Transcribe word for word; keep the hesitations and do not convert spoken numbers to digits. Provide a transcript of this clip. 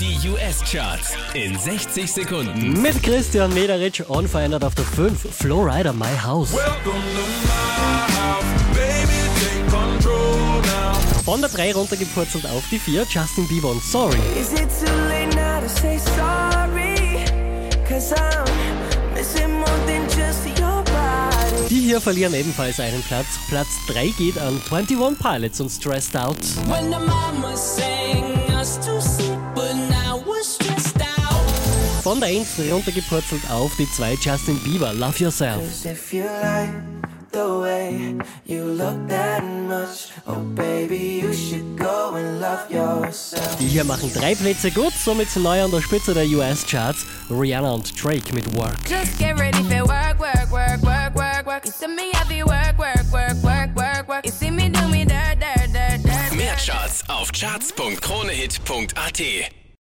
Die U S-Charts in sechzig Sekunden. Mit Christian Mederitsch unverändert auf der fünf. Flo Rida, My House. Von der drei runtergepurzelt auf die vier. Justin Bieber und Sorry. Die hier verlieren ebenfalls einen Platz. Platz drei geht an einundzwanzig Pilots und Stressed Out. Von der eins runtergepurzelt auf die zwei. Justin Bieber, Love Yourself. Die hier machen drei Plätze gut, somit neu an der Spitze der U S-Charts. Rihanna und Drake mit Work. Just get ready for work, work, work, work, work, work. You see me happy, work, work, work, work, work, work. You see me do me dirt, dirt, dirt, dirt. Mehr Charts auf charts punkt kronehit punkt at.